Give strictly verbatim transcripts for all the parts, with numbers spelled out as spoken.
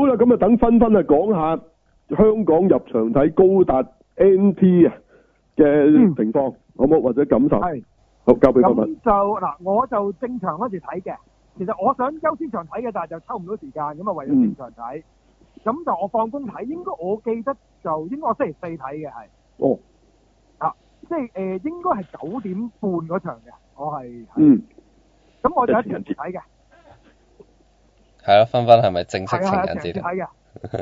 好啦，咁啊等芬芬啊講下香港入場睇高達 N T 啊嘅情況，好冇或者感受？ 係。 好，交俾芬芬。 咁就嗱，我就正常嗰時睇嘅。其實我想優先場睇嘅，但係就抽唔到時間，咁啊為咗正常睇。咁、嗯、就我放工睇，應該我記得就應該我星期四睇嘅係。 哦。 啊，即係誒、呃，應該係九點半嗰場嘅，我係。 嗯。 咁我就一齊睇嘅。 係咯，芬芬係咪正式情人節睇嘅。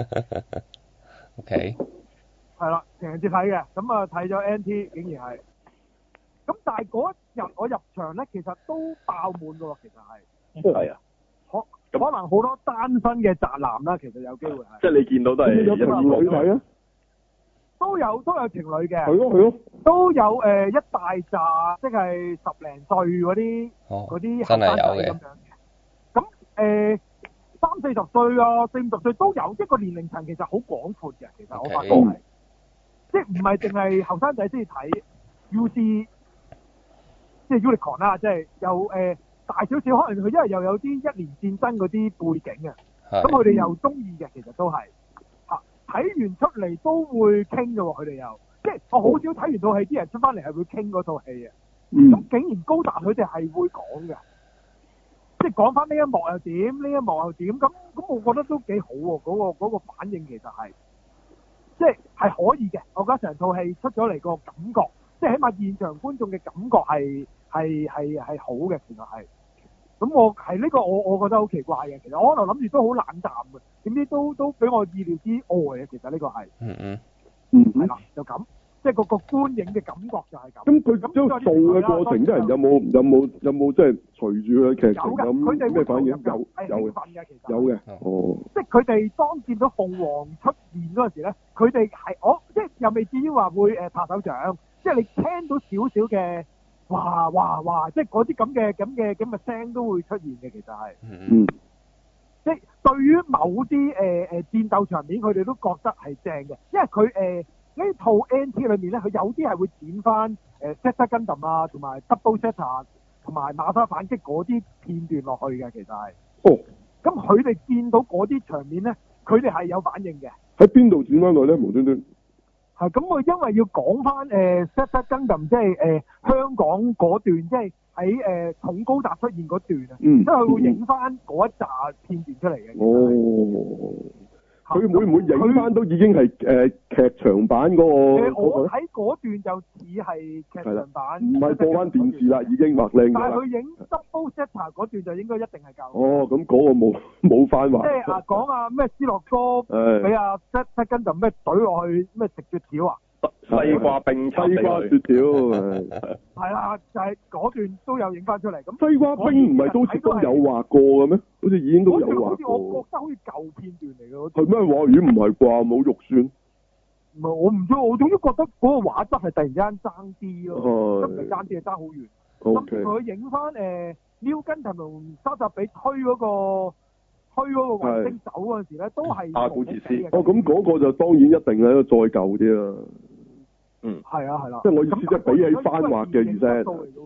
O K。 係啦，情人節睇嘅，咁啊睇咗 N T， 竟然係。咁但係嗰日我入場咧，其實都爆滿㗎喎，其實係。 係啊。 可可能好多單身嘅宅男啦，其實有機會係。 即係你見到都係有情侶睇啊？ 都有都有情侶嘅。 係咯係咯。 都有誒、呃、一大紮，即係十零歲嗰啲嗰啲後生仔咁樣嘅。咁誒、呃、三四十歲啊，四五十歲都有，一個年齡層其實好廣闊嘅。其實我發覺係，即係唔係淨係後生仔先至睇 U C， 即係 Unicorn 啦，即係有誒、呃、大少少，可能佢因為又有啲一年戰爭嗰啲背景啊，咁佢哋又中意嘅，其實都係嚇睇完出嚟都會傾嘅喎，佢哋又。即係我好少睇完套戲，啲人出翻嚟係會傾嗰套戲嘅。咁、嗯、竟然高達佢哋係會講嘅，即係講翻呢一幕又點，呢一幕又點。咁咁，我覺得都幾好喎。嗰、嗰個嗰個反應其實係，即係係可以嘅。我覺得成套戲出咗嚟個感覺，即係起碼現場觀眾嘅感覺係係係係好嘅。其實係。咁我係呢個我我覺得好奇怪嘅。其實我可能諗住都好冷淡嘅，點知都都俾我意料之外嘅。其實呢個係。 嗯嗯。 嗯， 係啦，就咁，即係個個觀影嘅感覺就係咁。 咁佢咁做嘅過程，啲人有冇有冇有冇即係隨住佢嘅劇情咁咩反應？有有嘅，有嘅，哦。即係佢哋當見到鳳凰出現嗰陣時咧，佢哋係我即係又未至於話會誒拍手掌，即係你聽到少少嘅哇哇哇，即係嗰啲咁嘅咁嘅咁嘅聲都會出現嘅，其實係。 嗯。 即係對於某啲誒誒戰鬥場面，佢哋都覺得係正嘅，因為佢誒呢套 N T 裏面咧，佢有啲係會剪翻誒 Zeta Gundam 啊，同埋 Double Zeta 同埋馬沙反擊嗰啲片段落去嘅，其實係。哦。咁佢哋見到嗰啲場面咧，佢哋係有反應嘅。 喺邊度剪翻來咧？無端端。 係咁，我因為要講翻誒 Zeta Gundam，即係誒香港嗰段，即係。喺誒重高達出現嗰段啊，即係佢會影翻嗰一紮片段出嚟嘅。哦，佢會唔會影翻都已經係誒劇場版嗰個？誒，我睇嗰段就似係劇場版， 唔係播翻電視啦，已經畫靚㗎啦。 但係佢影 Double Zeta 嗰段就應該一定係夠。 哦，咁嗰個冇冇翻畫。 即係啊，講啊咩斯諾哥俾阿 Zeta Gundam咩懟落去咩食雪條啊！ 西瓜冰， 西瓜雪條， 係啦，就係嗰段都有影翻出嚟。咁西瓜冰唔係都都有畫過嘅咩？好似已經都有畫過。好似我覺得好似舊片段嚟嘅。 係咩畫？咦，唔係啩？冇肉酸。 唔係，我唔知，我總之覺得嗰個畫質係突然之間爭啲咯，真係爭啲係爭好遠。甚至佢影翻誒 New Gundam 同沙扎比推嗰個推嗰個衛星走嗰陣時咧，都係阿古馳斯。 哦，咁嗰個就當然一定係再舊啲啦。 嗯， 係啊，係啦。 即係我意思，即係比起翻畫嘅意思。嚇？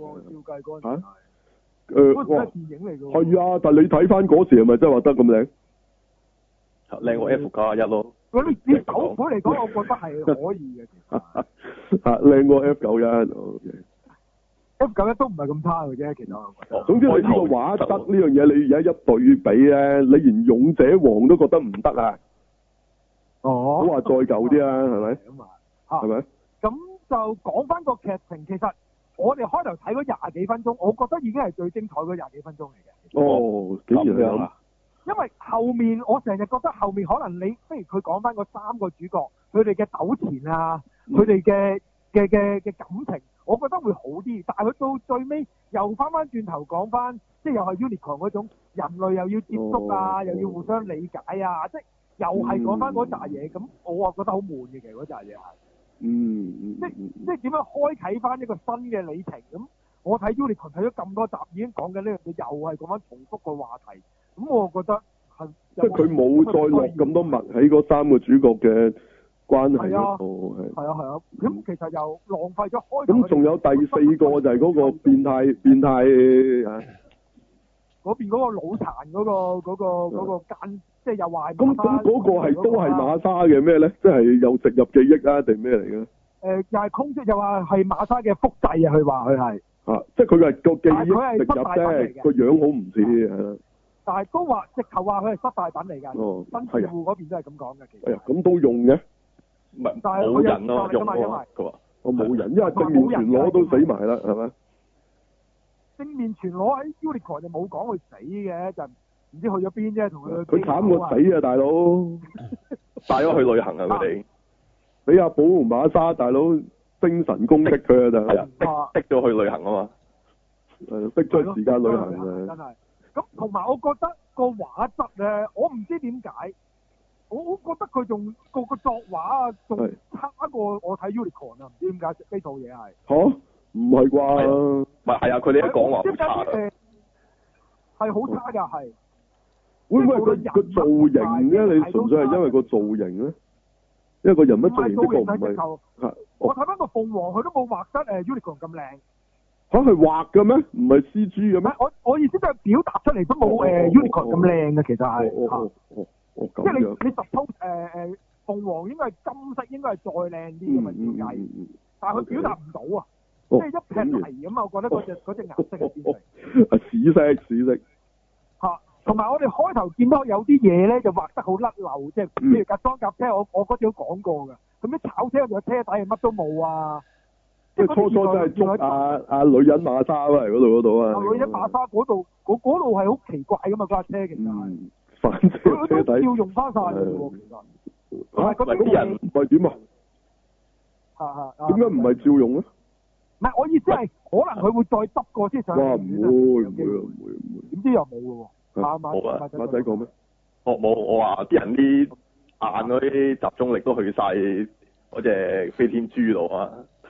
誒，哇！ 電影嚟㗎。 係啊，但係你睇翻嗰時係咪真係畫得咁靚？ 靚過 F 加一咯。 嗰啲以手繪嚟講，我覺得係可以嘅。 嚇，靚過 F 九一。 F 九一都唔係咁差嘅啫，其實我覺得。 總之你呢個畫質呢樣嘢，你而家一對比咧，你連勇者王都覺得唔得啊！ 哦。 好話再舊啲啊，係咪？ 咁啊。 係咪？ 咁就講翻個劇情，其實我哋開頭睇嗰廿幾分鐘，我覺得已經係最精彩嗰廿幾分鐘嚟嘅。 哦，竟然係咁。 因為後面我成日覺得後面可能你，不如佢講翻嗰三個主角，佢哋嘅糾纏啊，佢哋嘅嘅嘅嘅感情，我覺得會好啲。但係佢到最尾又翻翻轉頭講翻，即係又係 Unicorn 嗰種人類又要接觸啊，哦、又要互相理解啊，即係又係講翻嗰扎嘢。咁、嗯、我啊覺得好悶嘅，其實嗰扎嘢係。嗯，嗯即嗯即係點樣開啟翻一個新嘅里程咁？我睇 Unicorn 睇咗咁多集，已經講緊呢樣嘢，又係講翻重複個話題。咁我覺得係即係佢冇再落咁多墨喺嗰三個主角嘅關係嗰度，係係啊係啊。咁其實又浪費咗開。 咁仲有第四個就係嗰個變態變態啊！ 嗰邊嗰個腦殘嗰個嗰個嗰個奸即係又話咁咁嗰個係都係馬莎嘅咩咧？即係又植入記憶啊，定咩嚟嘅？ 誒，又係空即又話係馬莎嘅複製啊！佢話佢係啊，即係佢係個記憶植入啫，個樣好唔似係啦。但係都話直頭話佢係失敗品嚟㗎。 哦， 新住戶嗰邊都係咁講嘅。其實。 哎呀，咁都用嘅？ 唔係冇人咯，用喎。佢話我冇人，因為正面全裸都死埋啦，係咪？ 正面全裸喺 Unicorn 就冇講佢死嘅，就唔知去咗邊啫，同佢。 佢慘過死啊，大佬！ 帶咗去旅行啊，佢哋。 俾阿寶同馬莎大佬精神攻擊佢啊，就係啊，逼逼咗去旅行啊嘛。 誒，逼咗時間旅行啊！ 真係。咁同埋我覺得個畫質咧，我唔知點解，我我覺得佢仲個個作畫啊，仲差過我睇 Unicorn 啊，唔知點解呢套嘢係。嚇？唔係啩？ 唔係係啊，佢哋一講話好差嘅。係好差㗎，係。 會唔會佢個造型咧？你純粹係因為個造型咧？因為個人物造型的確唔係。 我睇翻個鳳凰，佢都冇畫得誒 Unicorn 咁靚。 嚇係畫嘅咩？唔係 C G 嘅咩？ 我我意思即係表達出嚟都冇誒 Unicorn 咁靚嘅，其實係。 哦哦哦咁樣。 即係你你 suppose 誒誒鳳凰應該係金色，應該係再靚啲嘅嘛設計，但係佢表達唔到啊。即係一撇泥咁啊！我覺得嗰隻嗰隻顏色係變成啊屎色屎色嚇，同埋我哋開頭見到有啲嘢咧就畫得好甩漏，即係譬如架裝甲車，我我嗰次都講過㗎。咁啲炒車個車底係乜都冇啊！ 即係初初真係捉啊啊女人馬莎嚟嗰度嗰度啊！ 女人馬莎嗰度嗰嗰度係好奇怪㗎嘛，架車其實係反車車底要用翻晒㗎喎，其實嚇嗰啲人唔係點啊？ 嚇嚇點解唔係照用咧？ 唔係，我意思係可能佢會再執過先上。 哇！唔會唔會唔會唔會。 點知又冇嘅喎？馬冇啊！ 馬仔講咩？ 我冇，我話啲人啲眼嗰啲集中力都去晒嗰隻飛天豬度啊！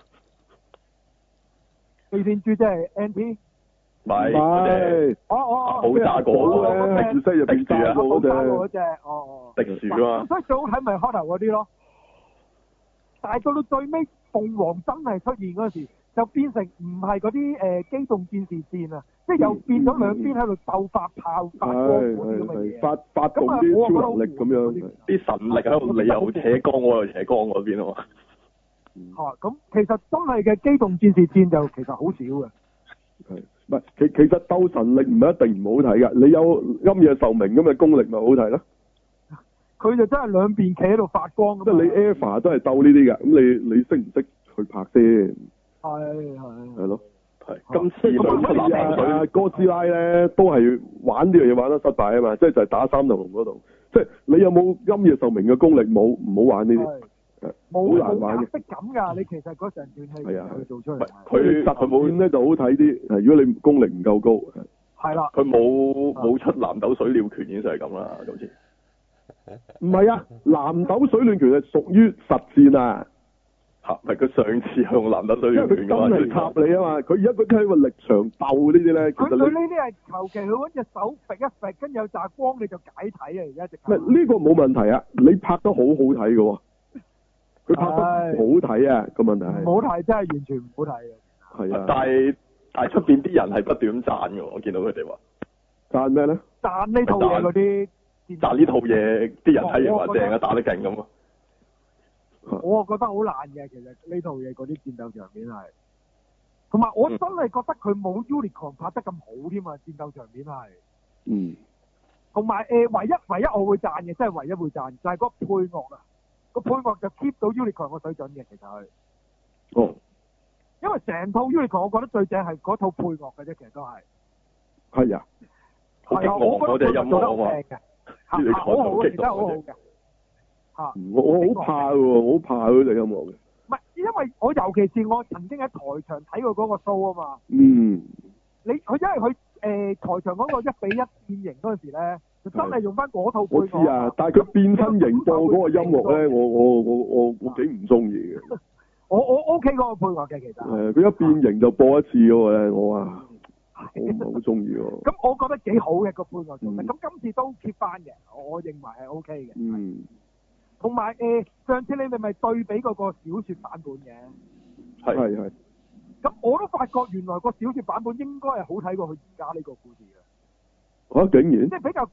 飛天豬即係 N P。 唔係嗰隻。 哦哦。 好炸過咧，樹西入邊炸過嗰隻。 嗰隻哦哦。 迪樹啊嘛。 所以最好睇咪開頭嗰啲咯。但係到到最尾，鳳凰真係出現嗰時。就變成唔係嗰啲誒機動戰士戰啊，即係又變咗兩邊喺度鬥發炮、發光嗰啲咁嘅嘢，發發動啲超能力咁樣， 啲神力喺度，你又扯光，我又扯光嗰邊啊嘛。 嚇！咁其實真係嘅機動戰士戰就其實好少嘅。 係，唔係其其實鬥神力唔係一定唔好睇㗎，你有暗夜壽明咁嘅功力咪好睇咯。 佢就真係兩邊企喺度發光咁。 即係你 Eva 都係鬥呢啲㗎，咁你你識唔識去拍先？ 係係係咯， 係今次兩出男男水哥斯拉咧都係玩呢樣嘢玩得失敗啊嘛，即係就係打三頭龍嗰度，即係你有冇陰夜壽明嘅功力冇？唔好玩呢啲，係好難玩嘅。 冇色感㗎，你其實嗰成段戲佢做出嚟， 佢實戰咧就好睇啲。如果你功力唔夠高， 係啦， 佢冇冇出南斗水鳥拳已經就係咁啦，好似唔係啊，南斗水暖拳係屬於實戰啊。 嚇！唔係佢上次用南斗水暖拳嘅話， 真係插你啊嘛！佢而家嗰啲喺個力場鬥呢啲咧， 佢佢呢啲係求其佢揾隻手揈一揈，跟住有紮光你就解體啊！而家直。唔係呢個冇問題啊！你拍得好好睇嘅喎，佢拍得好睇啊！個問題係。唔好睇真係完全唔好睇嘅。 係啊。 但係但係出邊啲人係不斷咁讚嘅喎，我見到佢哋話。 讚咩咧？ 讚呢套嘢嗰啲。 讚呢套嘢啲人睇完話正啊，打得勁咁啊！ 我啊覺得好爛嘅，其實呢套嘢嗰啲戰鬥場面係，同埋我真係覺得佢冇 Unicorn 拍得咁好添啊！戰鬥場面係， 嗯， 同埋誒唯一唯一我會讚嘅，真係唯一會讚就係、是、嗰個配樂啊，個配樂就 keep 到 Unicorn 個水準嘅，其實係， 哦， 因為成套 Unicorn 我覺得最正係嗰套配樂嘅啫，其實都係， 係啊， 係啊，我覺得音樂好正嘅，好好嘅，其實好好嘅。嚇！ 我我好怕喎，我好怕嗰隻音樂嘅。 唔係，因為我尤其是我曾經喺台場睇過嗰個 show 啊嘛。 嗯。你佢因為佢誒、呃、台場嗰個一比一變形嗰陣時咧，就真係用翻嗰套配樂。 我知啊，但係佢變身形播嗰個音樂咧，我我我我我幾唔中意嘅。 我我 OK 嗰個配樂嘅其實。係佢一變形就播一次嗰個咧，我啊，我唔係好中意喎。 咁我覺得幾好嘅個配樂做得，咁、嗯、今次都 keep 翻嘅，我認為係 OK 嘅。 嗯。 同埋誒，上次你哋咪對比嗰個小説版本嘅， 係係係。 咁我都發覺原來個小説版本應該係好睇過佢而家呢個故事嘅。 嚇、啊！竟然。 即係比較簡，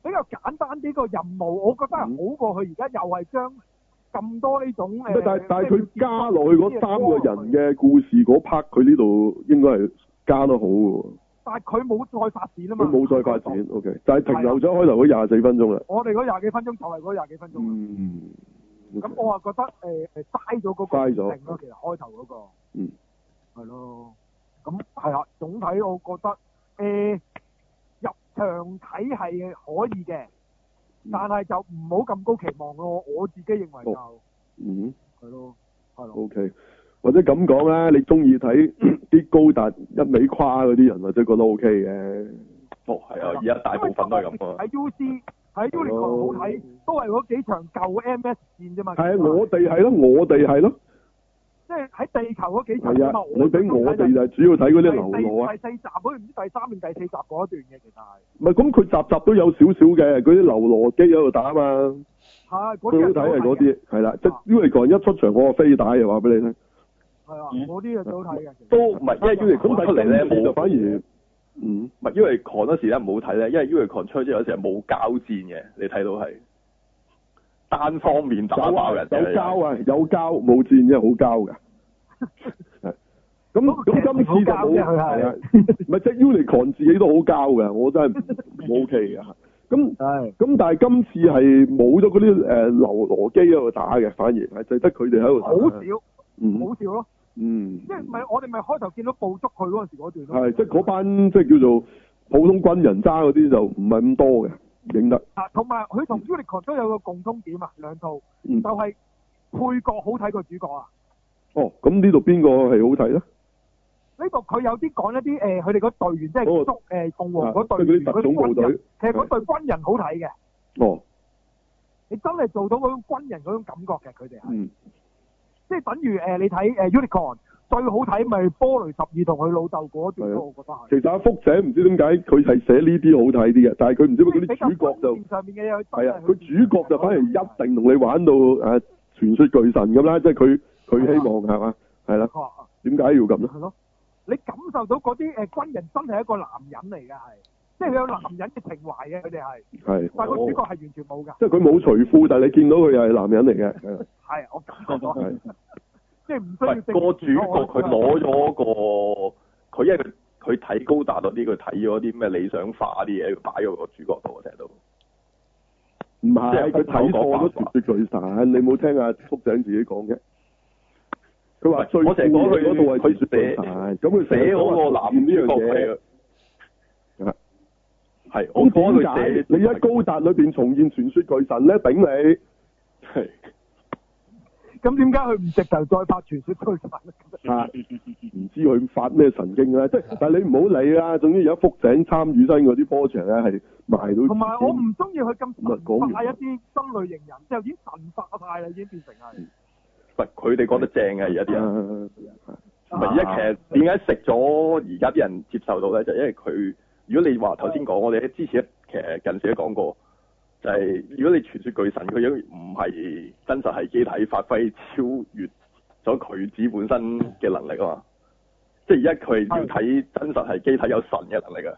比較簡單啲個任務，我覺得係好過佢而家又係將咁多呢種誒。 嗯、但係但係佢加落去嗰三個人嘅故事嗰 part，佢呢度應該係加得好嘅。但係佢冇再發展啊嘛。佢冇再發展 ，OK， 就係停留咗開頭嗰廿四分鐘啦。我哋嗰廿幾分鐘就係嗰廿幾分鐘。嗯。咁、okay. 我啊覺得誒誒嘥咗嗰個設定咯，其實開頭嗰、那個。嗯。係咯。咁係啦，總體我覺得誒。呃入場睇係可以嘅，但係就唔好咁高期望咯。我自己認為就，哦、嗯，係咯，係咯。O、okay. K， 或者咁講啦，你中意睇啲高達一味誇嗰啲人，或者覺得 O K 嘅。哦，係啊，而家大部分都係咁啊。喺 U C 喺 Uniqlo 好睇，都係嗰幾場舊 M S 戰啫嘛。係啊，我哋係咯，我哋係咯。即係喺地球嗰幾集啊嘛，你俾我哋就係主要睇嗰啲流羅啊。第四集好似唔知第三定第四集嗰一段嘅，其實係。唔係，咁佢集集都有少少嘅，嗰啲流羅機喺度打啊嘛。係，嗰啲最好睇係嗰啲，係啦，即係 Unicorn 一出場，我個飛帶就話俾你聽。係啊，嗰啲就最好睇嘅。都唔係，因為 Unicorn 出嚟咧冇就反而，嗯，唔係 Unicorn 嗰時咧唔好睇咧，因為 Unicorn 出咗有時係冇交戰嘅，你睇到係。單方面打爆人，有交啊，有交冇戰嘅，好交㗎。係咁咁今次就冇係啊，唔係即係 Unicorn 自己都好交㗎，我真係唔 OK 㗎。咁咁但係今次係冇咗嗰啲誒流羅機喺度打嘅，反而係就得佢哋喺度打。好少，嗯，好少咯。嗯，即係唔係我哋咪開頭見到捕捉佢嗰陣時嗰段咯。係，即係嗰班即係叫做普通軍人揸嗰啲就唔係咁多嘅。影得啊，同埋佢同 Unicorn 都有個共通點啊，兩套、嗯、就係、是、配角好睇過主角啊。哦，咁呢度邊個係好睇咧？呢度佢有啲講一啲誒，佢哋嗰隊員即係捉誒鳳凰嗰隊員嗰啲軍人，其實嗰隊軍人好睇嘅。哦，你真係做到嗰種軍人嗰種感覺嘅，佢哋係，嗯、即係等於誒、呃、你睇誒 Unicorn。最好睇咪波雷十二同佢老豆嗰段咯，我覺得係。其實阿福姐唔知點解佢係寫呢啲好睇啲嘅，但係佢唔知點解嗰啲主角就係啊，佢主角就反而一定同你玩到誒傳說巨神咁啦，即係佢佢希望係嘛，係啦。點解要咁咧？係咯，你感受到嗰啲誒軍人真係一個男人嚟嘅，係，即係佢有男人嘅情懷嘅，佢哋係。係。但係個主角係完全冇㗎。即係佢冇除褲，但係你見到佢又係男人嚟嘅。係，我感覺到。係。即係唔需要個主角佢攞咗個，佢因為佢佢睇高達嗰啲，佢睇咗啲咩理想化啲嘢，擺喺個主角度，我聽到。唔係，佢睇錯咗傳說巨神，你冇聽阿福井自己講嘅。佢話最，我成日講佢嗰度係傳說巨神，咁佢寫嗰個男呢樣嘢。係。係。咁點解你喺高達裏邊重現傳說巨神咧？頂你。係。咁點解佢唔直頭再發傳說巨神？啊，唔知佢發咩神經咧？即係，但係你唔好理啦。總之而家福井參與新嗰啲 project 咧，係賣到。同埋我唔中意佢咁神化一啲新類型人，就已經神化晒啦，已經變成係。唔係佢哋講得正嘅，而家啲人。唔係而家其實點解食咗而家啲人接受到咧？就係、因為佢，如果你話頭先講，我哋之前其實近時都講過。就係、是、如果你傳說巨神佢樣唔係真實係機體發揮超越咗佢自己本身嘅能力啊嘛，即係而家佢要睇真實係機體有神嘅能力啊。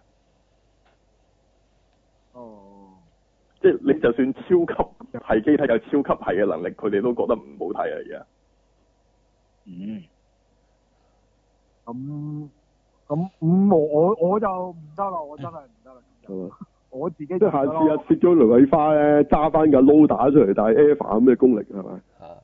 哦。即係你就算超級係機體有超級係嘅能力，佢哋都覺得唔好睇啊而家。嗯。咁咁咁我我我就唔得啦，我真係唔得啦。係嘛？我自己即係下次啊，切咗雷偉花咧，揸翻架撈打出嚟，但係 Eva 咁嘅功力係咪？啊！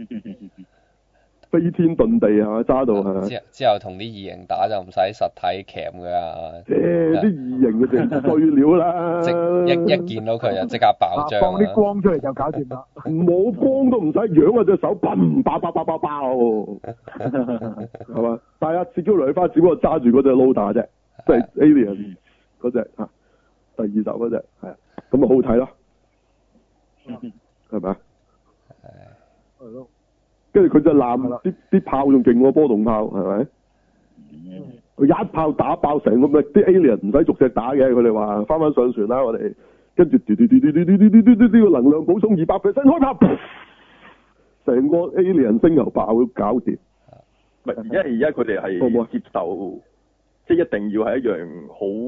飛天遁地係嘛？揸到係咪？之之後同啲異形打就唔使實體鉗㗎。誒，啲異形嘅就碎料啦。即一一見到佢就即刻爆漿。放啲光出嚟就搞掂啦。冇光都唔使，揚啊隻手，砰！爆爆爆爆爆，係嘛？但係啊，切咗雷偉花只不過揸住嗰隻撈打啫，即係 Alien 嗰隻嚇。第二集嗰隻係啊，咁咪好睇咯，係咪啊？係咯。跟住佢就攬啲啲炮仲勁過波動炮，係咪？佢、嗯、一炮打爆成個咩？啲 alien 唔使逐隻打嘅，佢哋話翻返上船啦，我哋跟住嘟嘟嘟嘟嘟嘟嘟嘟嘟嘟個能量補充二百 percent 開炮，成個 alien 星球爆都搞掂。唔係，因為而家佢哋係接受，即係一定要係一樣好。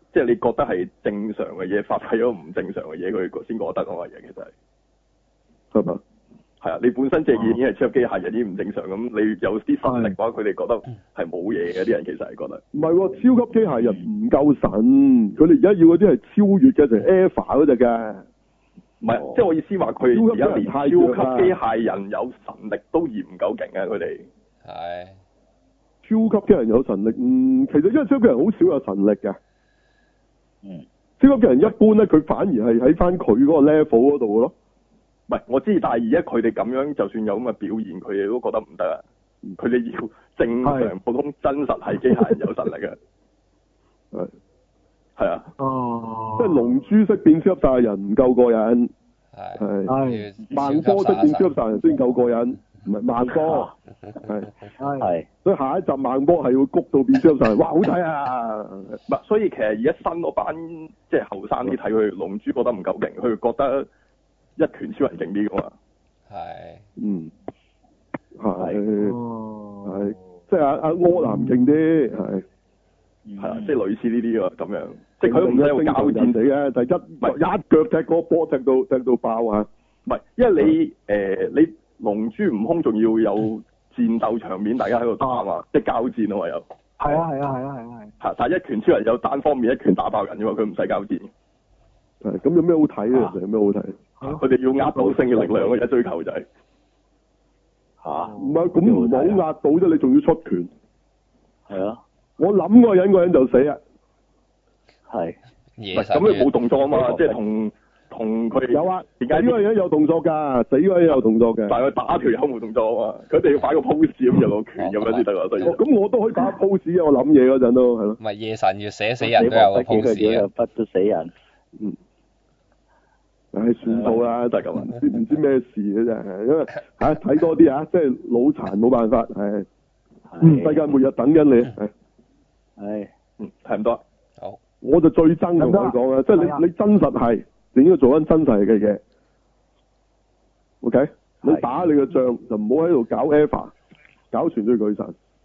即係你覺得係正常嘅嘢，發揮咗唔正常嘅嘢，佢先覺得嗰個嘢其實係，係嘛？係啊，你本身隻嘢已經係超級機械人，已經唔正常咁，你有啲實力嘅話，佢哋覺得係冇嘢嘅，啲人其實係覺得。唔係喎，超級機械人唔夠神，佢哋而家要嗰啲係超越嘅，就係 Eva 嗰隻嘅。唔係，哦、即係我意思話，佢而家連超級機械人有神力都嫌唔夠勁啊！佢哋係超級機械人有神力，嗯，其實因為超級機械人好少有神力嘅。嗯，超級機械人一般咧，佢反而係喺翻佢嗰個 level 嗰度嘅咯。唔係，我知，但係而家佢哋咁樣，就算有咁嘅表現，佢哋都覺得唔得啊！佢哋要正常普通真實係機械人有神力嘅。係。係啊，哦，即係龍珠式變超級賽亞人唔夠過癮，係係萬波式變超級賽亞人先夠過癮，唔係萬波，係係，所以下一集萬波係要谷到變超級賽亞人，哇好睇啊！唔係，所以其實而家新嗰班即係後生啲睇佢龍珠覺得唔夠勁，佢覺得一拳超人勁啲噶嘛，係，嗯，係，係，即係阿阿柯南勁啲，係。係啊，即係類似呢啲啊，咁樣，即係佢唔使用交戰地嘅，第一唔係一腳踢個波踢到踢到爆啊！唔係，因為你誒、呃、你龍珠悟空仲要有戰鬥場面，大家喺度打嘛，即係交戰啊嘛又。係啊係啊係啊係啊係。係，但係一拳超人有單方面一拳打爆人啫嘛，佢唔使交戰。係，咁有咩好睇咧？其實有咩好睇？佢哋要壓倒性嘅力量嘅，一追求就係吓。唔係咁唔好壓到啫，你仲要出拳。係啊。我諗嗰個人，嗰個人就死啊！係，咁你冇動作啊嘛，即係同同佢有啊。點解呢個人有動作㗎？死嗰個人有動作嘅，但係佢打條友冇動作啊嘛。佢哋要擺個 pose 咁有個拳咁樣先得啊。所以咁我都可以打 pose 啊！我諗嘢嗰陣都係咯。唔係夜神要寫死人都有個 pose 啊，不都死人。嗯。唉，算數啦，就係咁啊！唔知唔知咩事嘅啫，因為嚇睇多啲啊，即係腦殘冇辦法係。嗯，世界末日等緊你係。係，嗯，係唔多。好，我就最憎同佢講啊，即係你你真實係，你應該做緊真實嘅嘢。OK，你打你嘅仗就唔好喺度搞 EVA，搞全隊巨神。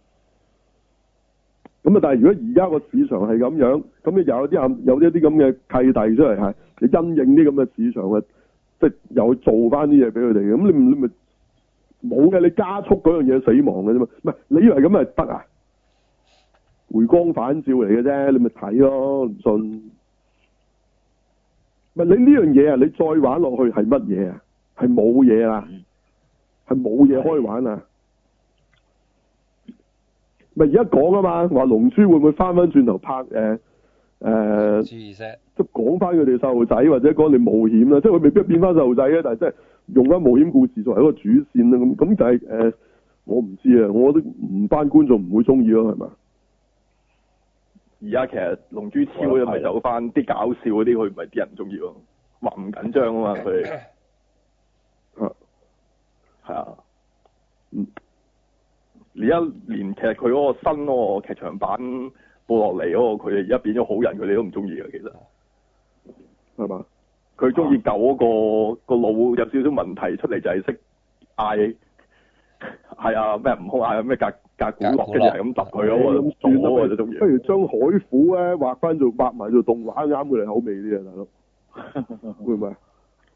咁啊，但係如果而家個市場係咁樣，咁你又有啲有一啲咁嘅契弟出嚟係，你因應啲咁嘅市場嘅，即係又去做翻啲嘢俾佢哋嘅，咁你你咪冇嘅，你加速嗰樣嘢死亡嘅啫嘛，唔係你以為咁咪得啊？回光返照嚟嘅啫，你咪睇咯，唔信。唔係你呢樣嘢啊，你再玩落去係乜嘢啊？係冇嘢啊，係冇嘢可以玩啊。咪而家講啊嘛，話龍珠會唔會翻翻轉頭拍誒誒？呃、即係講翻佢哋細路仔，或者講你冒險啦，即係佢未必變翻細路仔嘅，但係即係用翻冒險故事作為一個主線啦。咁咁就係、是、誒、呃，我唔知啊，我都唔班觀眾唔會中意咯，係嘛？而家其實龍珠超又咪走翻啲搞笑嗰啲，佢唔係啲人唔中意咯，話唔緊張啊嘛，佢哋係係啊，嗯，而家連其實佢嗰個新嗰個劇場版播落嚟嗰個，佢哋而家變咗好人，佢哋都唔中意嘅，其實係嘛？佢中意舊嗰個個腦有少少問題出嚟，就係識嗌係啊咩悟空嗌咩格格古樂，跟住係咁揼佢咯，咁算咯就中意。不如將海虎咧畫翻做畫埋做動畫，啱佢哋口味啲啊，大佬會唔會啊？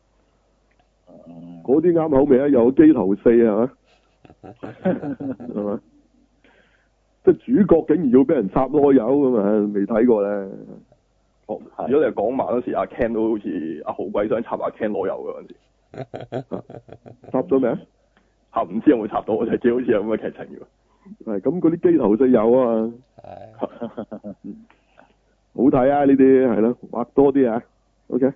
嗰啲啱口味啊，有機頭四係嘛？係嘛？即係主角竟然要俾人插囉柚咁啊！未睇過咧。哦，如果你係講埋嗰時，阿 Ken 都好似阿豪鬼想插阿 Ken 囉柚嘅嗰陣時。插咗未啊？插唔知有冇插到，我就知好似有咁嘅劇情嘅。係咁，嗰啲機頭四有啊嘛。係。好睇啊！呢啲係咯，畫多啲啊。OK。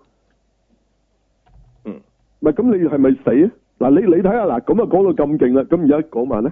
嗯。唔係咁，你係咪死啊？嗱，你你睇下嗱，咁啊講到咁勁啦，咁而家講埋咧。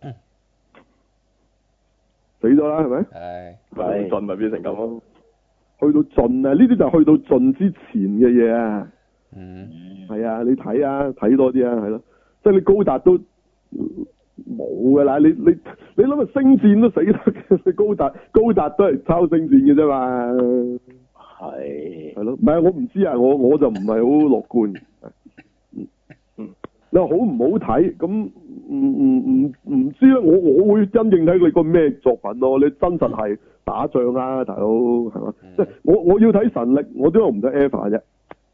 死咗啦，係咪？係。係。盡咪變成咁咯。去到盡啊！呢啲就係去到盡之前嘅嘢啊。嗯。係啊，你睇啊，睇多啲啊，係咯。即係你高達都冇噶啦，你你你諗下星戰都死得嘅，你高達高達都係抄星戰嘅啫嘛。係。係咯，唔係我唔知啊，我我就唔係好樂觀。嗯嗯。你話好唔好睇？咁唔唔唔知咧，我我會因應睇佢個咩作品咯。你真實係打仗啊，大佬係嘛？即係、嗯、我我要睇神力，我點解唔睇 Eva 啫？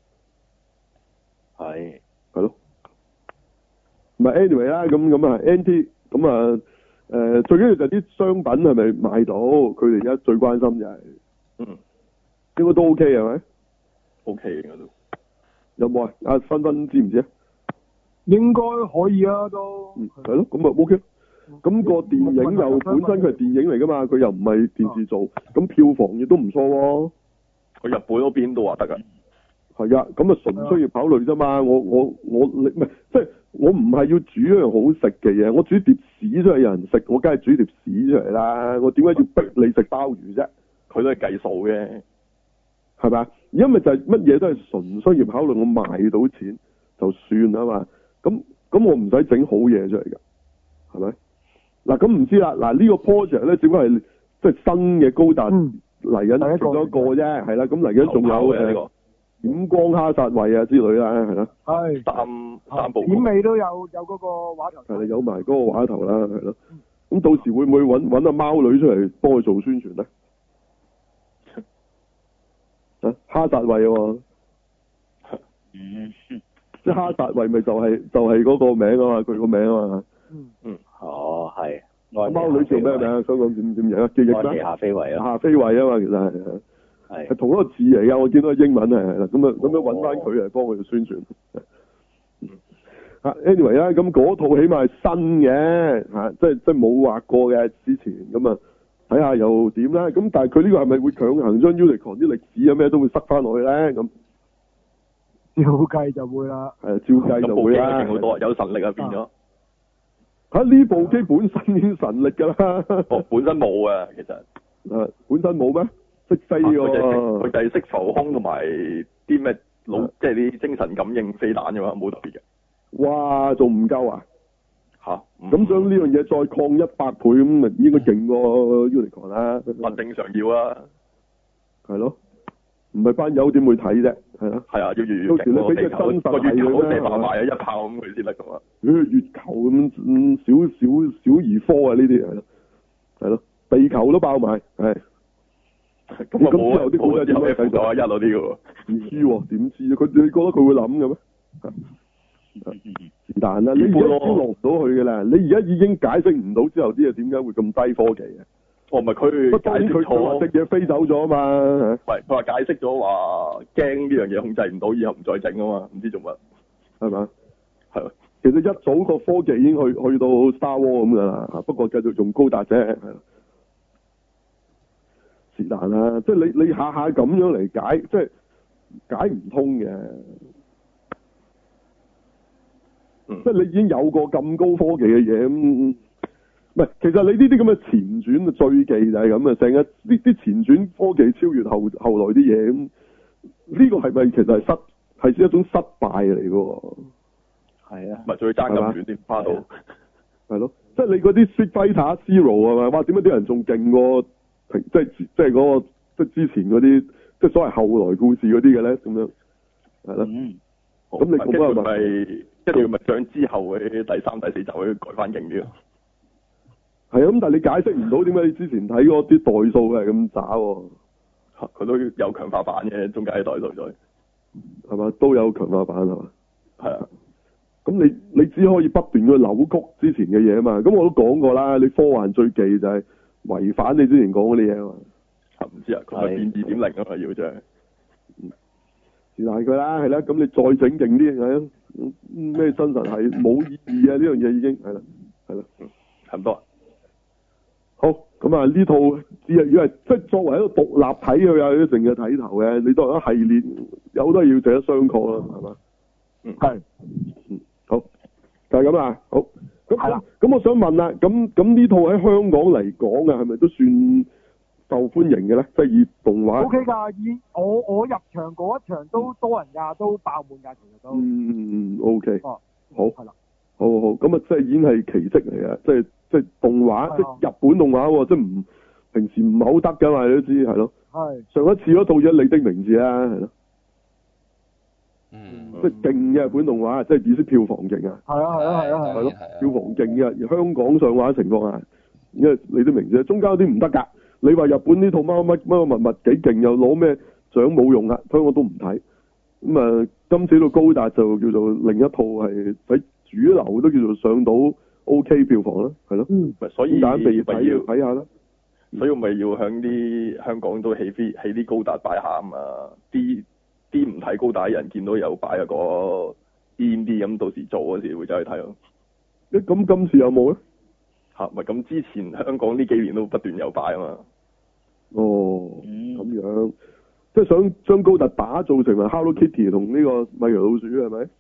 係係咯，唔係 anyway 啦，咁咁啊 N T 咁啊誒，最緊要就係啲商品係咪賣到？佢哋而家最關心就係、是， 嗯， 應該都 OK 係咪 ？OK 應該都有冇啊？阿芬芬知唔知啊？ 應該可以啊，都嗯係咯，咁啊 OK。咁個電影又本身佢係電影嚟噶嘛，佢又唔係電視做，咁票房亦都唔錯喎。 佢日本嗰邊都話得噶。 係啊，咁啊純商業考慮啫嘛。我我我你唔係即係我唔係要煮一樣好食嘅嘢，我煮碟屎出嚟有人食，我梗係煮碟屎出嚟啦。我點解要逼你食鮑魚啫？ 佢都係計數嘅， 係咪？因為就係乜嘢都係純商業考慮，我賣到錢就算啊嘛。咁咁我唔使整好嘢出嚟㗎，係咪？嗱咁唔知啦。嗱呢個 project 咧，只不過係即係新嘅高達嚟緊做咗一個啫，係啦。咁嚟緊仲有誒。呢個點光哈薩維啊之類啦，係啦， 係三三部片尾都有有嗰個畫頭， 係啦，有埋嗰個畫頭啦，係咯。咁到時會唔會揾揾阿貓女出嚟幫佢做宣傳咧？啊，哈薩維喎， 嗯， 即係哈薩維咪就係、是、就係、是、嗰個名啊嘛，佢個名啊嘛。 嗯嗯，哦係。 貓女叫咩名啊？香港點點樣啊？記憶咩？ 夏飛維啊。夏飛維啊嘛，其實係。係同一個字嚟噶，我見到英文係係啦，咁啊咁樣揾翻佢嚟幫佢宣傳。啊 ，anyway 啦，咁嗰套起碼係新嘅，吓、啊，即係即係冇畫過嘅之前，咁啊睇下又點啦。咁但係佢呢個係咪會強行將 Unicorn 啲歷史啊咩都會塞翻落去咧？咁照計就會啦。 係照計就會啦。 好多有神力啊變咗。 吓呢部機本身已經神力噶啦。 哦，本身冇啊，其實。 誒，本身冇咩？識飛喎， 佢就係識浮空同埋啲咩腦，即係啲精神感應飛彈嘅嘛，冇特別嘅。 哇，仲唔夠啊？ 吓， 咁將呢樣嘢再擴一百倍咁，咪應該勁過 Unicorn 啦。 唔正常要啊。係咯，唔係班友點會睇啫？係咯。 係啊，要越越勁。到時你俾隻真實係佢咧，射爆埋啊，一炮咁佢先得噶嘛。月球咁咁小小小兒科啊，呢啲係咯，係咯，地球都爆埋，係。咁咁之後啲古仔點樣睇到啊？一嗰啲嘅喎，唔知喎，點知啊？佢你覺得佢會諗嘅咩？是但啦，你而家已經落唔到去嘅啦。你而家已經解釋唔到之後啲嘢點解會咁低科技嘅？ 哦，唔係佢解釋錯， 隻嘢飛走咗啊嘛。 唔係佢話解釋咗話驚呢樣嘢控制唔到，以後唔再整啊嘛，唔知做乜， 係嘛？ 係。 其實一早個科技已經去去到 Star Wars 咁噶啦，不過繼續用高達啫，係。是但啦，即係你你下下咁樣嚟解，即係解唔通嘅。 嗯、 即係你已經有個咁高科技嘅嘢，咁唔係，其實你呢啲咁嘅前傳嘅最忌就係咁啊，成日呢啲前傳科技超越後後來啲嘢，咁呢個係咪其實係失係一種失敗嚟嘅？係啊， 咪再爭咁遠啲花到， 係咯，即係你嗰啲 Street Fighter Zero 係咪？哇，點解啲人仲勁過？即係即係嗰、那個即係之前嗰啲即係所謂後來故事嗰啲嘅咧，咁樣係咯。咁、嗯、你咁樣咪一定要咪將之後嘅第三、第四集去改翻勁啲咯。 係啊，咁但係你解釋唔到點解你之前睇嗰啲代數係咁渣喎？ 佢都有強化版嘅，中間啲代數再係嘛，都有強化版係嘛？ 係啊。 咁你你只可以不斷去扭曲之前嘅嘢啊嘛。咁我都講過啦，你科幻最忌就係違反你之前講嗰啲嘢啊嘛， 唔知啊，佢係變二點零啊嘛，要真係， 是但佢啦，係啦，咁你再整勁啲，係咩真實係冇意義啊？呢樣嘢已經係啦，係啦， 差唔多。 好，咁啊呢套只係如果係即係作為一個獨立睇佢有成嘅睇頭嘅，你當一系列有好多要值得商榷啦，係嘛？ 嗯，係， 嗯，好，就係咁啊，好。咁咁，我想問啦，咁咁呢套喺香港嚟講啊，係咪都算受歡迎嘅咧？即係以動畫 O K 㗎，以我我入場嗰一場都多人㗎，都爆滿㗎，其實都嗯 O K， 哦， 好係啦， 好好好，咁啊，即係已經係奇蹟嚟嘅，即係即係動畫，即係日本動畫喎，即係唔平時唔係好得㗎嘛，你都知係咯。係上一次嗰套嘢《你的名字》啊，係咯。 嗯， 即係勁嘅日本動畫，即係意思票房勁啊。 係啊係啊係啊係咯，票房勁嘅，而香港上畫情況下，因為你都明啫，中間有啲唔得㗎。你話日本呢套乜乜乜乜物物幾勁，又攞咩獎冇用啊，香港都唔睇。咁啊，今次到高達就叫做另一套係喺主流都叫做上到 OK 票房啦，係咯。 嗯，所以大家咪要睇下啦。 所以我咪要響啲香港都起飛起啲高達擺下啊嘛，啲啲唔睇高達人見到有擺啊個 in 啲咁，到時做嗰時會走去睇咯。 誒，咁今次有冇咧？ 嚇，咪咁之前香港呢幾年都不斷有擺啊嘛。 哦，咁樣，即係想將高達打造成為 Hello Kitty 同呢個米奇老鼠係咪？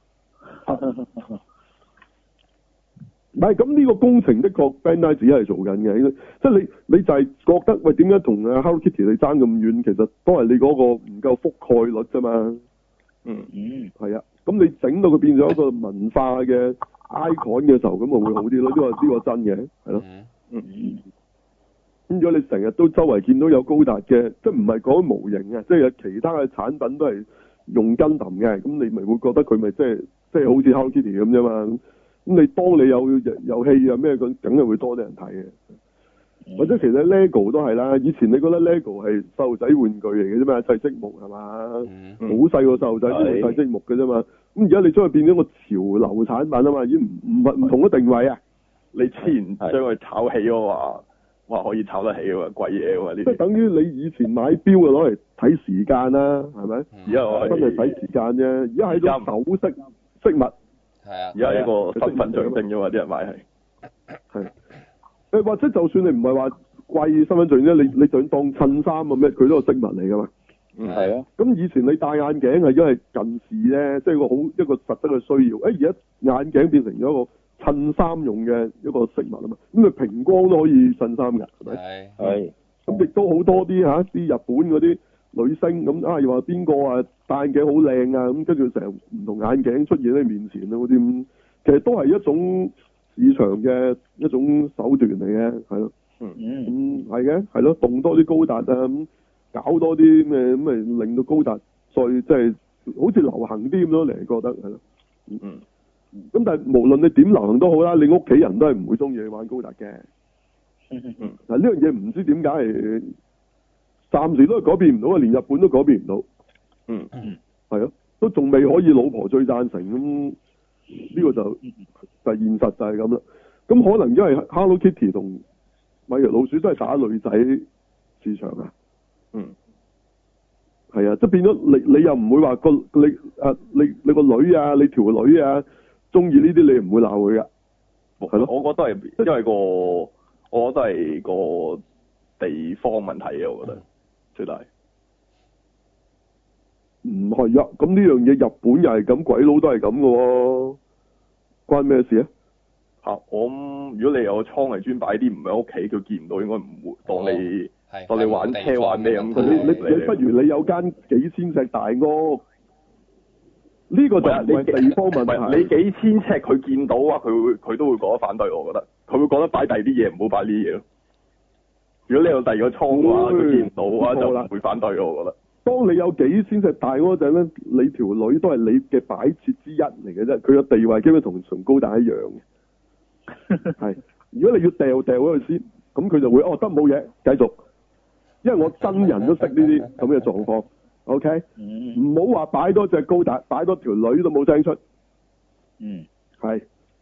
唔係，咁呢個工程的確 Bandai 自己係做緊嘅，即係你你就係覺得喂點解同啊 Hello Kitty 你爭咁遠？其實都係你嗰個唔夠覆蓋率啫嘛。 嗯嗯， 係啊，咁你整到佢變咗一個文化嘅 icon 嘅時候，咁咪會好啲咯。呢個呢個真嘅，係咯。 嗯嗯。 咁如果你成日都周圍見到有高達嘅，即係唔係講模型嘅，即係有其他嘅產品都係用跟揼嘅，咁你咪會覺得佢咪即係即係好似 Hello Kitty 咁啫嘛。咁你當你有遊戲啊咩咁，梗係會多啲人睇嘅。嗯、或者其實 LEGO 都係啦，以前你覺得 LEGO 係細路仔玩具嚟嘅啫嘛，砌積木係嘛，好細個細路仔先會砌積木嘅啫嘛。咁而家你將佢變咗個潮流產品啊嘛，已經唔唔唔同嘅定位啊。 你之前將佢炒起嘅話，哇可以炒得起喎，貴嘢喎呢啲。 即係等於你以前買錶啊攞嚟睇時間啦，係咪？ 而家我真係睇時間啫，而家係種首飾飾物。 係啊， 而家係一個身份象徵啫嘛，啲人買係。 係。誒或者就算你唔係話貴身份象徵，你你想當襯衫啊咩，佢都係飾物嚟㗎嘛。 嗯，係啊。 咁以前你戴眼鏡係因為近視咧，即係個好一個實質嘅需要。誒而家眼鏡變成咗一個襯衫用嘅一個飾物啊嘛。咁啊平光都可以襯衫㗎，係咪？ 係。 係。咁亦都好多啲嚇啲日本嗰啲女星咁啊，又話邊個啊戴眼鏡好靚啊，咁跟住成唔同眼鏡出現喺面前啊嗰啲咁，其實都係一種市場嘅一種手段嚟嘅，係咯。嗯嗯。咁係嘅，係咯，動多啲高達啊咁。搞多啲咩咁咪令到高達再即係好似流行啲咁咯，你覺得係咯？嗯嗯。咁但係無論你點流行都好啦，你屋企人都係唔會中意你玩高達嘅。嗯嗯嗯。嗱呢樣嘢唔知點解係暫時都係改變唔到啊，連日本都改變唔到。嗯嗯。係咯，都仲未可以老婆最贊成咁，呢個就就係現實就係咁啦。咁可能因為 Hello Kitty 同米奇老鼠都係打女仔市場啊。嗯，係啊，即係變咗你你又唔會話個你啊你你個女啊你條女啊中意呢啲你唔會鬧佢噶，係咯？ 我覺得係因為個我覺得係個地方問題啊，我覺得最大。 唔係啊，咁呢樣嘢日本又係咁，鬼佬都係咁噶喎，關咩事啊？ 吓，我如果你有個倉係專擺啲唔喺屋企，佢見唔到，應該唔會當你。當你玩車玩咩咁？ 你你你不如你有間幾千尺大屋，呢個就係你地方問題。 你幾千尺佢見到啊，佢會佢都會覺得反對，我覺得佢會覺得擺第二啲嘢，唔好擺呢啲嘢咯。如果你有第二個倉嘅話，佢見唔到嘅話就唔會反對，我覺得。 當你有幾千尺大嗰陣咧，你條女都係你嘅擺設之一嚟嘅啫，佢嘅地位基本同崇高大一樣嘅。係，如果你要掉掉嗰佢先，咁佢就會哦得冇嘢，繼續。因為我真人都識呢啲咁嘅狀況 ，OK，唔好話擺多隻高達，擺多條女都冇聲出。嗯，係，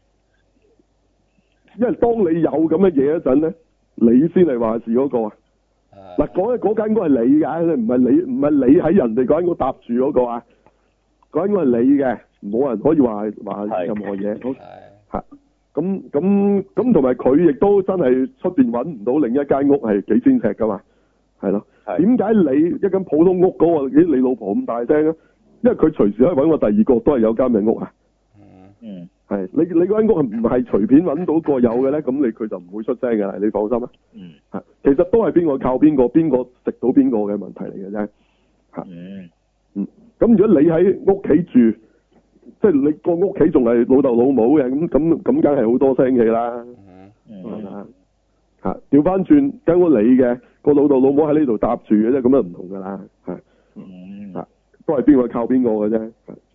因為當你有咁嘅嘢嗰陣咧，你先係話事嗰個啊。嗱，講嘅嗰間屋係你嘅，唔係你唔係你喺人哋嗰間屋搭住嗰個啊，嗰間屋係你嘅，冇人可以話話任何嘢。好，係，咁咁咁同埋佢亦都真係出邊揾唔到另一間屋係幾千尺噶嘛。係咯，點解你一間普通屋嗰、嗰個咦你老婆咁大聲啊？因為佢隨時可以揾個第二個都係有間嘅屋啊。嗯，係你你嗰間屋係唔係隨便揾到個有嘅咧？咁你佢就唔會出聲嘅，你放心啊。嗯，係其實都係邊個靠邊個，邊個食到邊個嘅問題嚟嘅啫。嚇，嗯，嗯，咁如果你喺屋企住，即係你個屋企仲係老豆老母嘅，咁咁咁梗係好多聲氣啦。嗯，係嘛？嚇，調翻轉間屋你嘅。個老豆老母喺呢度搭住嘅啫，咁樣唔同噶啦，係，嗯，啊，都係邊個靠邊個嘅啫，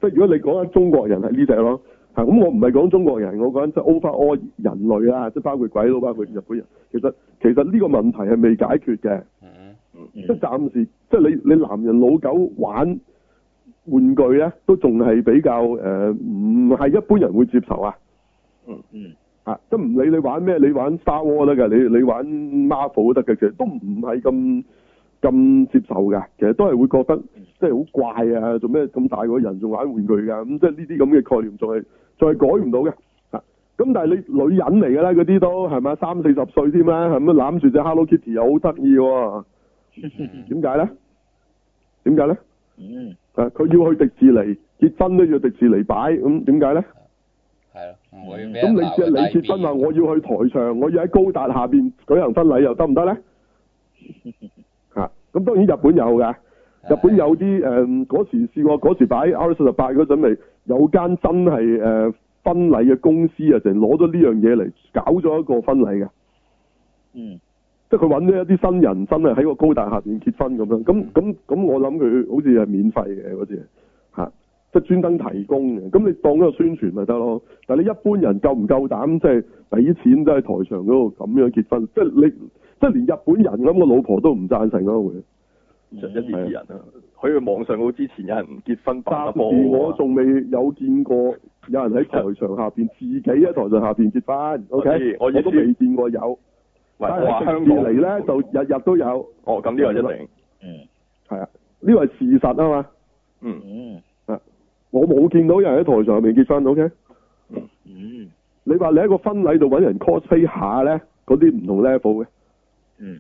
即係如果你講緊中國人係呢隻咯，嚇咁我唔係講中國人，我講緊即係 overall 人類啦，即係包括鬼佬、包括日本人。其實其實呢個問題係未解決嘅。 嗯嗯、即係暫時，即係你你男人老狗玩玩具咧，都仲係比較誒，唔、呃、係一般人會接受啊。 嗯嗯。 啊，即係唔理你玩咩，你玩 Star Wars 得㗎，你你玩 Marvel 都得嘅，其實都唔係咁咁接受㗎。其實都係會覺得即係好怪啊！做咩咁大個人仲玩玩具㗎？咁、嗯、即係呢啲咁嘅概念，仲係仲係改唔到嘅。啊，咁但係你女人嚟㗎啦，嗰啲都係咪三四十歲添啦？係咪攬住隻 Hello Kitty 又好得意喎？點解咧？點解咧？ 嗯。 啊，佢要去迪士尼結婚都要迪士尼擺，咁點解咧？ 係咯，唔會咁你只係你結婚話我要去台上，我要喺高達下邊舉行婚禮又得唔得咧？嚇、啊，咁當然日本有㗎，日本有啲誒嗰時試過嗰時擺 R 四十八嗰陣，咪有間真係誒、呃、婚禮嘅公司啊，就攞咗呢樣嘢嚟搞咗一個婚禮嘅。 嗯。 即係佢揾咗一啲新人，真係喺個高達下邊結婚咁樣。咁咁咁，我諗佢好似係免費嘅嗰次嚇。即係專登提供嘅，咁你當一個宣傳咪得咯。但係你一般人夠唔夠膽即係俾錢都喺台上嗰度咁樣結婚？即係你即係連日本人咁個老婆都唔贊成咯，會。 就一啲人啊，喺網上嗰之前有人結婚辦波。暫時我仲未有見過有人喺台上下邊自己喺台上下邊結婚。O K，我都未見過有。但係香港嚟咧就日日都有。 哦，咁呢個一定。嗯。 係啊，呢個係事實啊嘛。 嗯嗯。 我冇見到有人喺台上面結婚 ，OK？ 嗯， 你話你喺個婚禮度揾人 cosplay 下咧，嗰啲唔同 level 嘅。 嗯。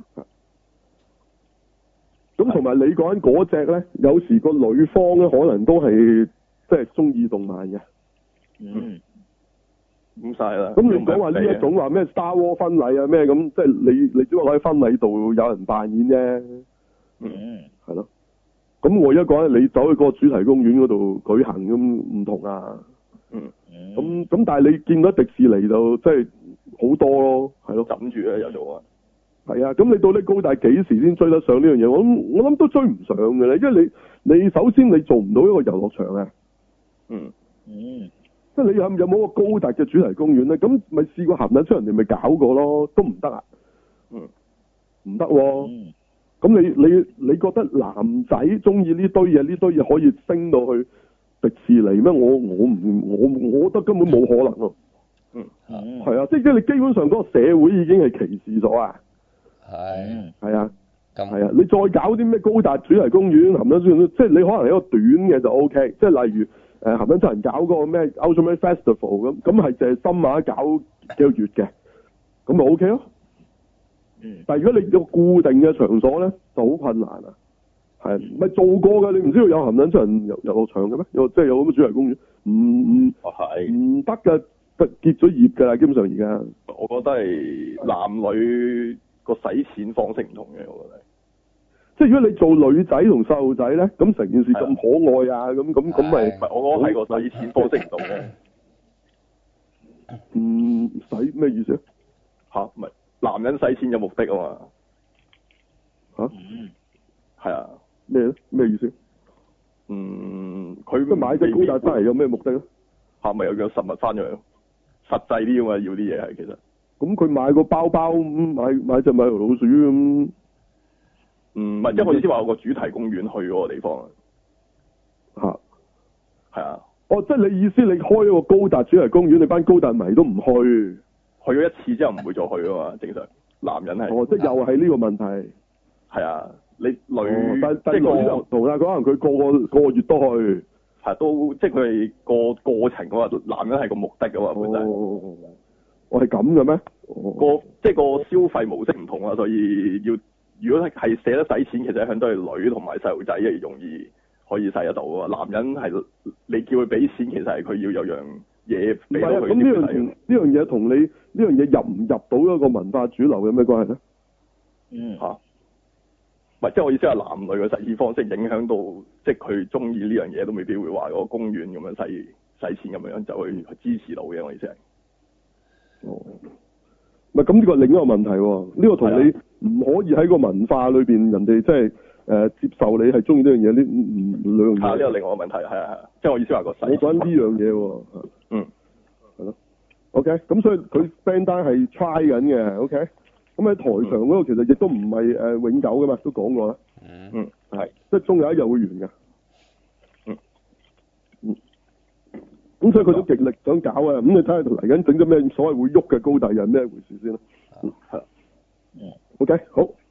咁同埋你講緊嗰隻咧，有時個女方咧可能都係即係中意動漫嘅。 嗯。咁晒啦。 咁你講話呢一種話咩 Star Wars 婚禮啊咩咁，即係你你只不過喺婚禮度有人扮演啫。 嗯。係咯。咁我而家講咧，你走去個主題公園嗰度舉行咁唔同啊。 嗯。 咁咁，但係你見到迪士尼就即係好多咯，係咯。 枕住咧有做啊。 係啊，咁你到底高達幾時先追得上呢樣嘢？我諗我諗都追唔上嘅咧，因為你你首先你做唔到一個遊樂場啊。 嗯。嗯。 即係你有有冇個高達嘅主題公園咧？咁咪試過行得出人哋咪搞過咯，都唔得啊。 嗯。 唔得喎。 嗯。 咁你你你覺得男仔中意呢堆嘢，呢堆嘢可以升到去迪士尼咩？我我唔我我覺得根本冇可能咯。 嗯， 係啊，即係你基本上嗰個社會已經係歧視咗啊。 係。 係啊。 咁。 係啊，你再搞啲咩高達主題公園，含得出即係你可能係一個短嘅就 O K，即係例如誒含得出人搞嗰個咩 Ultimate Festival 咁，咁係淨係深馬搞幾個月嘅，咁咪 O K 咯。 嗯、 但係如果你有固定嘅場所咧，就好困難啊。係咪做過㗎？你唔知道有含撚出人遊遊樂場嘅咩？有即係有咁嘅主題公園？唔唔唔得㗎，結咗業㗎啦。基本上而家， 我覺得係男女個使錢方式唔同嘅，我覺得。即係如果你做女仔同細路仔咧，咁成件事咁可愛啊，咁咁咁咪？唔係，我覺得係個使錢方式唔同嘅。唔使咩意思啊？ 吓，唔係。男人使錢有目的啊嘛， 吓、啊， 係啊， 咩咧？咩意思？ 嗯，佢即買隻高達翻嚟有咩目的咧？ 吓，咪有樣實物翻咗，實際啲啊嘛，要啲嘢係其實。 咁佢買個包包，買買隻米老鼠咁。 嗯，唔係，即係我意思話有個主題公園去嗰個地方啊。吓， 係啊。 哦，即係你意思，你開一個高達主題公園，你班高達迷都唔去。 去咗一次之後唔會再去啊嘛，正常男人係。 哦，即係又係呢個問題。 係啊，你女、 哦、但但即係女就同啦，可能佢個個個月都去。 係都即係佢係個過程嘅話，男人係個目的嘅嘛，本身。 哦，我係咁嘅咩？ 個即係個消費模式唔同啊，所以要如果係捨得使錢，其實一向都係女同埋細路仔係容易可以使得到啊。男人係你叫佢俾錢，其實係佢要有樣嘢俾到佢。咁呢樣呢樣嘢同你呢樣嘢入唔入到一個文化主流有咩關係咧？ 嗯吓，唔係即係我意思係男女嘅使錢方式影響到，即係佢中意呢樣嘢都未必會話個公園咁樣使使錢咁樣就去支持到嘅。我意思係。 哦，唔係咁呢個係另一個問題喎。呢、呢個同你唔可以喺個文化裏邊，人哋即係呃、接受你係中意呢樣嘢，呢唔兩樣嘢。 啊，呢個另外個問題係啊係啊，即係我意思話個細。 我講呢樣嘢喎。 嗯。 係咯。OK，咁所以佢 Bandai 係 try 緊嘅。OK，咁喺台上嗰個其實亦都唔係誒永久噶嘛，都講過啦。 嗯嗯，係， 即係終有一日會完㗎。 嗯。 嗯。咁所以佢都極力想搞啊！咁你睇下嚟緊整咗咩所謂會喐嘅高達人咩回事先啦。嗯，係啦。 嗯。 OK，好。